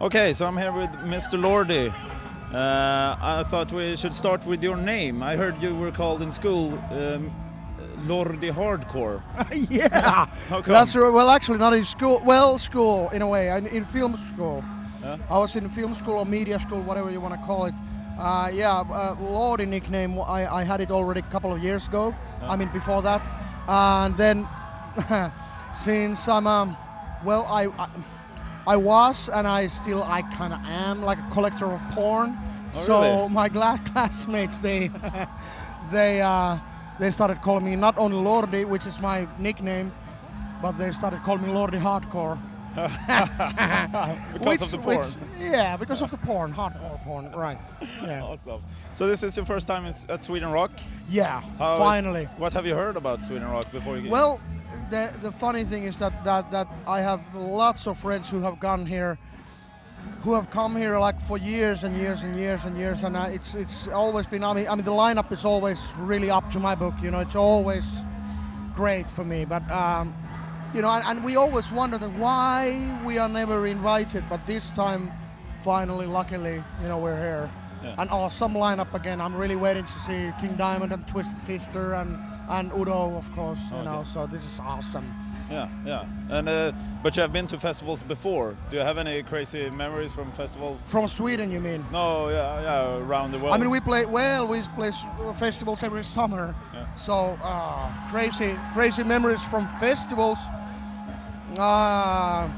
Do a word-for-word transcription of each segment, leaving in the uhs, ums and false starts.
Okay, so I'm here with Mister Lordi. Uh, I thought we should start with your name. I heard you were called in school um, Lordi Hardcore. Yeah, How come? that's right. Well, actually, not in school. Well, school in a way. In, in film school. Yeah? I was in film school or media school, whatever you want to call it. Uh, yeah, uh, Lordi nickname. I, I had it already a couple of years ago. Yeah. I mean, before that, and then since I'm um, well, I, I I was and I still I kind of am like a collector of porn. Oh, so really? my gla- classmates they they uh, they started calling me not only Lordi, which is my nickname, but they started calling me Lordi Hardcore. because which, of the porn. Which, yeah, because of the porn, hardcore porn, right? Yeah. Awesome. So this is your first time in, at Sweden Rock? Yeah, How is- finally. what have you heard about Sweden Rock before you? Well, the the funny thing is that, that that I have lots of friends who have gone here, who have come here like for years and years and years and years, and uh, it's it's always been. I mean, I mean the lineup is always really up to my book. You know, it's always great for me. But um, you know, and, and we always wondered why we are never invited. But this time, finally, luckily, you know, we're here. Yeah. An awesome lineup again. I'm really waiting to see King Diamond and Twisted Sister and and Udo, of course. You Okay. know, so this is awesome. Yeah, yeah. And uh, but you have been to festivals before. Do you have any crazy memories from festivals? From Sweden, you mean? No, yeah, yeah, around the world. I mean, we play well. We play s- festivals every summer. Yeah. So uh, crazy, crazy memories from festivals. Uh,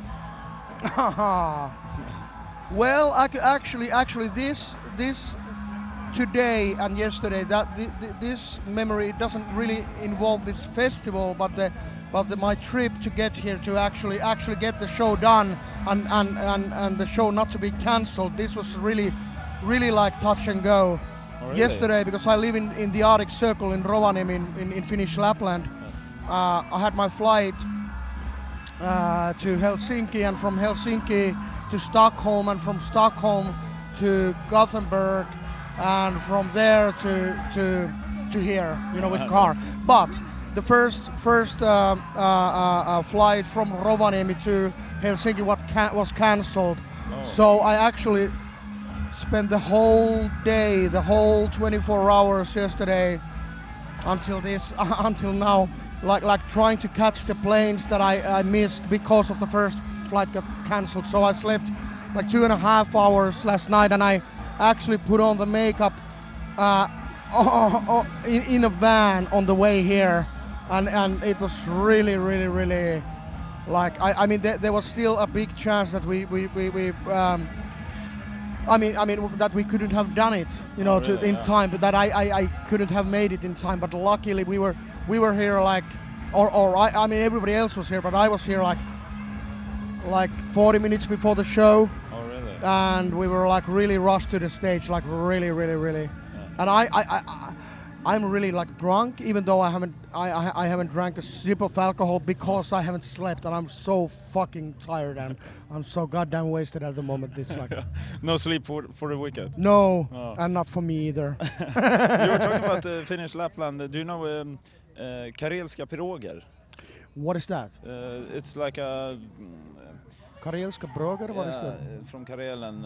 well, ac- actually, actually, this this today and yesterday, that th- th- this memory doesn't really involve this festival, but the but the, my trip to get here to actually actually get the show done and and, and, and the show not to be cancelled. This was really really like touch and go. Oh, really? Yesterday, because I live in, in the Arctic Circle in Rovaniemi in, in, in Finnish Lapland, uh, I had my flight uh, to Helsinki, and from Helsinki to Stockholm, and from Stockholm to Gothenburg, and from there to to to here, you know, with car. But the first first uh, uh, uh, uh, flight from Rovaniemi to Helsinki what ca- was cancelled. Oh. So I actually spent the whole day, the whole twenty-four hours yesterday until this, until now, like like trying to catch the planes that I, I missed because of the first flight got cancelled. So I slept like two and a half hours last night, and I actually put on the makeup uh, in, in a van on the way here, and, and it was really, really, really like I, I mean there, there was still a big chance that we we we. we um, I mean, I mean that we couldn't have done it, you know, Oh, really? to, in Yeah. time. But that I, I, I couldn't have made it in time. But luckily, we were we were here like, or or I, I mean everybody else was here, but I was here like, like forty minutes before the show, Oh, really? and we were like really rushed to the stage, like really, really, really. And I, I, I, I I'm really like drunk, even though I haven't I, I, I haven't drank a sip of alcohol because I haven't slept, and I'm so fucking tired, and I'm so goddamn wasted at the moment. This like. No sleep for for the weekend. No, Oh. and not for me either. You were talking about the Finnish Lapland. Do you know um, uh, Karelska piroger? What is that? Uh, it's like a Karelska broger? What is yeah, that? uh, from Karelen. Uh,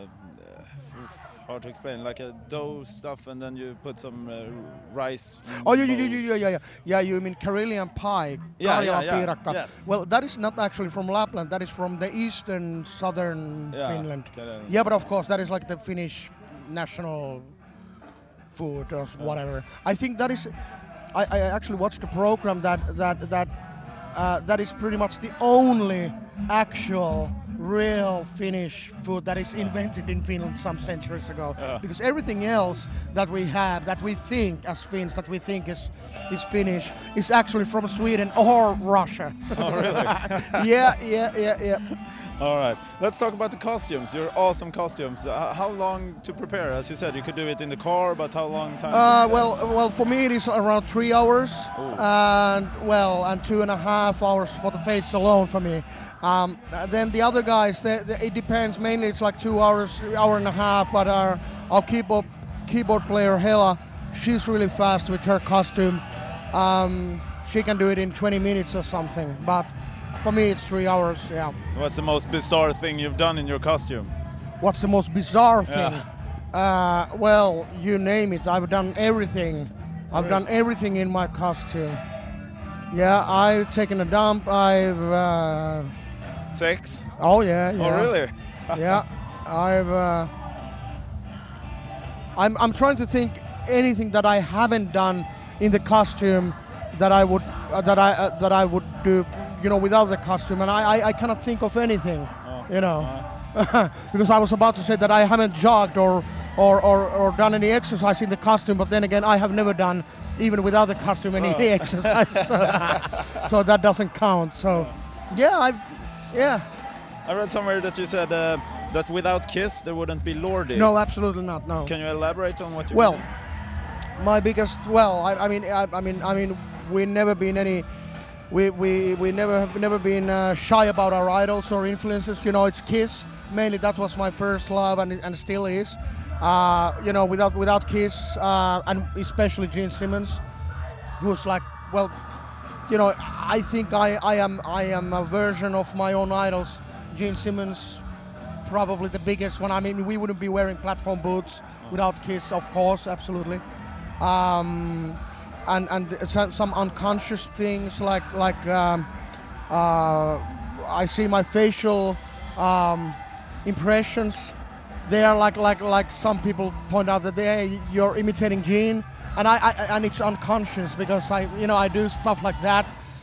uh, oof, hard to explain. Like a dough stuff, and then you put some uh, rice. in Oh, yeah, yeah, bowl. yeah, yeah, yeah, yeah. Yeah, you mean Karelian pie? Yeah, Karjalan yeah, yeah. piirakka. Yes. Well, that is not actually from Lapland. That is from the eastern, southern Yeah, Finland. Karelen. Yeah, but of course, that is like the Finnish national food or whatever. I think that is. I, I actually watched a program that that that uh, that is pretty much the only actual real Finnish food that is invented in Finland some centuries ago. Yeah. Because everything else that we have, that we think as Finns, that we think is is Finnish, is actually from Sweden or Russia. Oh, really? yeah, yeah, yeah, yeah. All right. Let's talk about the costumes. Your awesome costumes. Uh, how long to prepare? As you said, you could do it in the car, but how long time? Uh, to well, well, for me it is around three hours, Oh. and well, and two and a half hours for the face alone for me. Um, uh, then the other guys, they, they, it depends. Mainly, it's like two hours, hour and a half. But our our keyboard keyboard player Hela, she's really fast with her costume. Um, she can do it in twenty minutes or something. But For me, it's three hours. Yeah. What's the most bizarre thing you've done in your costume? What's the most bizarre thing? Yeah. Uh, well, you name it. I've done everything. I've done everything in my costume. Yeah, I've taken a dump. I've. Uh, Sex? oh yeah. Yeah. Oh really? Yeah. I've. Uh, I'm. I'm trying to think anything that I haven't done in the costume that I would uh, that I uh, that I would do, you know, without the costume, and I I, I cannot think of anything, Oh. you know. Uh, Because I was about to say that I haven't jogged or, or, or, or done any exercise in the costume, but then again, I have never done, even without the costume, any Oh. exercise. So, so that doesn't count. So, yeah, I, yeah. I read somewhere that you said uh, that without Kiss there wouldn't be Lordi. No, absolutely not. No. Can you elaborate on what you Well, mean? my biggest, well, I, I mean, I, I mean, I mean, we never been any. We, we, we never have never been uh, shy about our idols or influences. You know, it's Kiss. Mainly, that was my first love, and and still is. Uh, you know, without without Kiss, uh, and especially Gene Simmons, who's like, well, you know, I think I, I am I am a version of my own idols. Gene Simmons, probably the biggest one. I mean, we wouldn't be wearing platform boots without Kiss, of course, absolutely. Um, and and some, some unconscious things like like um, uh, I see my facial um, impressions. They are like like like some people point out that they you're imitating Gene, and I, I and it's unconscious because I you know I do stuff like that,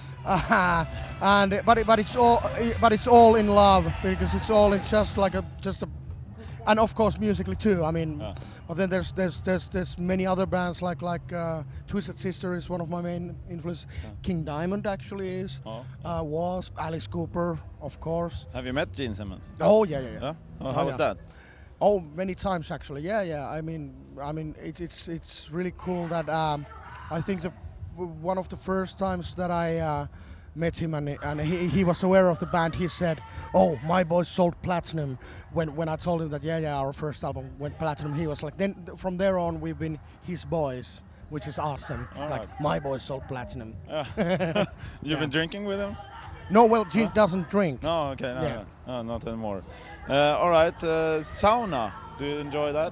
uh, and but it, but it's all but it's all in love because it's all in just like a just a. And of course, musically too. I mean, Yeah. but then there's there's there's there's many other bands like like uh, Twisted Sister is one of my main influences. King Diamond actually is. Oh. Uh, Wasp, Alice Cooper, of course. Have you met Gene Simmons? Oh yeah yeah yeah. Yeah? Oh, Oh, how was yeah. that? Oh, many times actually. Yeah yeah. I mean I mean it's it's it's really cool that um, I think the one of the first times that I. Uh, met him and, and he, he was aware of the band. He said, oh, my boys sold platinum. When when I told him that, yeah, yeah, our first album went platinum, he was like, then th- from there on, we've been his boys, which is awesome. All like, right. my boys sold platinum. You've Yeah. been drinking with him? No, well, Gene doesn't drink. No, okay, no, Yeah. no, no, not anymore. Uh, all right, uh, sauna. Do you enjoy that?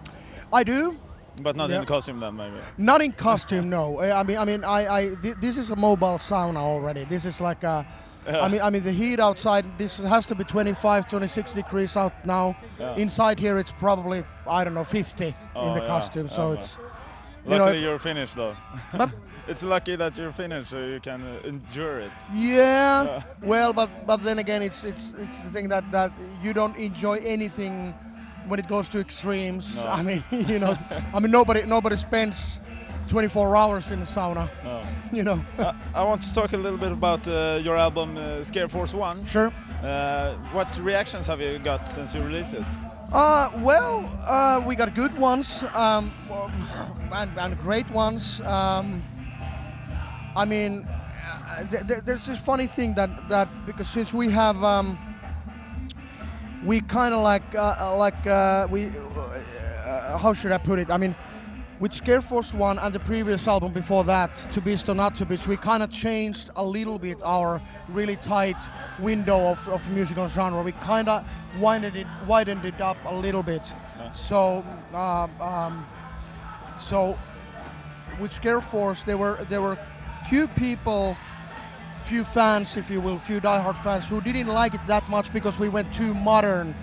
I do. But not Yeah. in the costume then, maybe. Not in costume, no. Uh, I mean, I mean, I, I th- this is a mobile sauna already. This is like a, Yeah. I mean, I mean, the heat outside. This has to be twenty-five, twenty-six degrees out now. Yeah. Inside here, it's probably I don't know, fifty in Oh, the yeah. costume. So Yeah, it's, you know, Luckily, you're Finnish though. but It's lucky that you're Finnish, so you can uh, endure it. yeah. Yeah. Well, but but then again, it's it's it's the thing that that you don't enjoy anything when it goes to extremes. No. I mean, you know, I mean nobody nobody spends twenty-four hours in the sauna. No. You know. Uh, I want to talk a little bit about uh, your album uh, Scare Force One. Sure. Uh, what reactions have you got since you released it? Uh, well, uh, we got good ones um, and, and great ones. Um, I mean, uh, th- th- there's this funny thing that, that because since we have, um, we kind of like uh, like uh, we, uh, how should I put it? I mean, with Scare Force One and the previous album before that, To Beast or Not to Beast, we kind of changed a little bit our really tight window of, of musical genre. We kind of widened it, widened it up a little bit. So, um, um, so with Scare Force, there were there were few people, few fans, if you will, few diehard fans who didn't like it that much because we went too modern.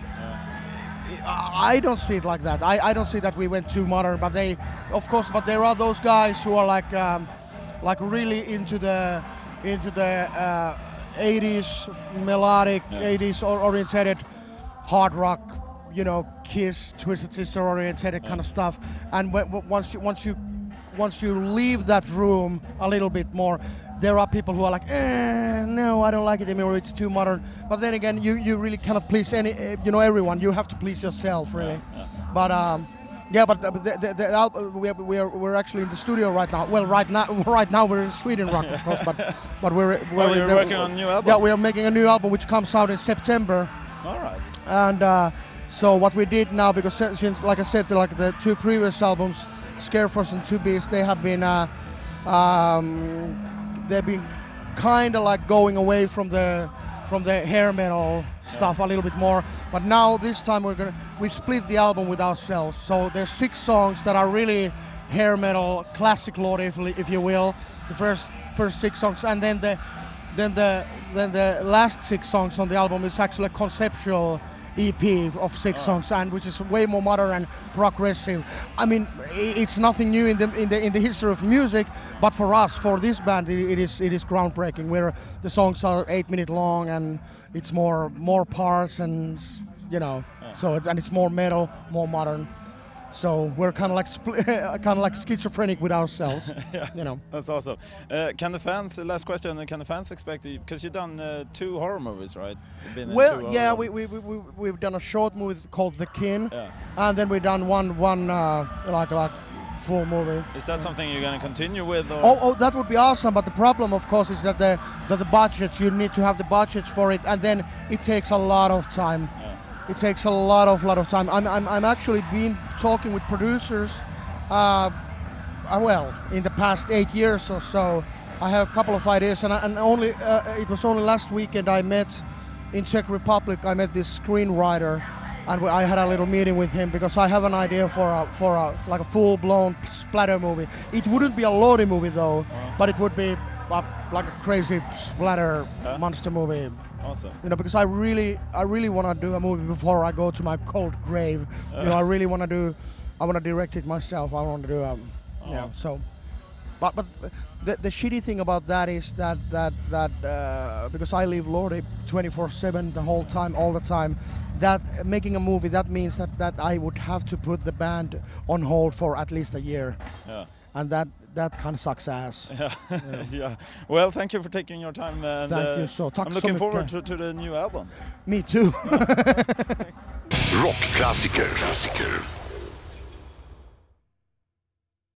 I don't see it like that. I, I don't see that we went too modern, but they, of course, but there are those guys who are like, um, like really into the, into the uh, eighties melodic, Yeah. eighties or oriented hard rock, you know, Kiss, Twisted Sister oriented kind of stuff. And when, w- once you, once you, once you leave that room a little bit more, there are people who are like, eh, no, I don't like it anymore. It's too modern. But then again, you, you really cannot please any, uh, you know, everyone. You have to please yourself, really. Yeah. But um, yeah, but the, the, the, the al- we are, we are we're actually in the studio right now. Well, right now, right now we're in Sweden Rock, of course. But but we're, we're Oh, you're the- working on a new album? Yeah, we are making a new album which comes out in September. All right. And uh, so what we did now, because si- since, like I said, the, like the two previous albums, Scare Force and Two Beasts, they have been, uh, um, they've been kind of like going away from the from the hair metal stuff a little bit more. But now this time we're gonna we split the album with ourselves. So there's six songs that are really hair metal, classic Lordi, if, if you will. The first first six songs, and then the then the then the last six songs on the album is actually a conceptual E P of six oh. songs, and which is way more modern and progressive. I mean, it's nothing new in the in the in the history of music, but for us, for this band, it, it is it is groundbreaking. Where the songs are eight minute long, and it's more more parts, and you know, yeah. so it, and it's more metal, more modern. So we're kind of like spl- kind of like schizophrenic with ourselves, yeah, you know. That's awesome. Uh, can the fans? Last question. Can the fans expect? Because you've done uh, two horror movies, right? Been well, yeah, we we we we've done a short movie called The Kin, yeah. and then we've done one one uh, like like full movie. Is that yeah. something you're going to continue with? Or? Oh, oh, that would be awesome. But the problem, of course, is that the that the budgets you need to have the budgets for it, and then it takes a lot of time. Yeah. It takes a lot of lot of time. I'm I'm I'm actually been talking with producers, uh, uh, well, in the past eight years or so. I have a couple of ideas, and I, and only uh, it was only last weekend I met in Czech Republic. I met this screenwriter, and I had a little meeting with him because I have an idea for a for a like a full-blown splatter movie. It wouldn't be a Lordi movie though, uh-huh. but it would be a, like a crazy splatter huh? monster movie. Awesome. You know, because I really, I really want to do a movie before I go to my cold grave. Uh. You know, I really want to do, I want to direct it myself. I want to do, um, oh. yeah. So, but but the the shitty thing about that is that that that uh, because I live Lordi twenty-four seven the whole time, all the time. That making a movie, that means that that I would have to put the band on hold for at least a year. Yeah. And that that kind of sucks ass. Yeah. Yeah. Yeah. Well, thank you for taking your time. And, thank uh, you so. I'm looking forward to, to the new album. Me too. Rockklassiker.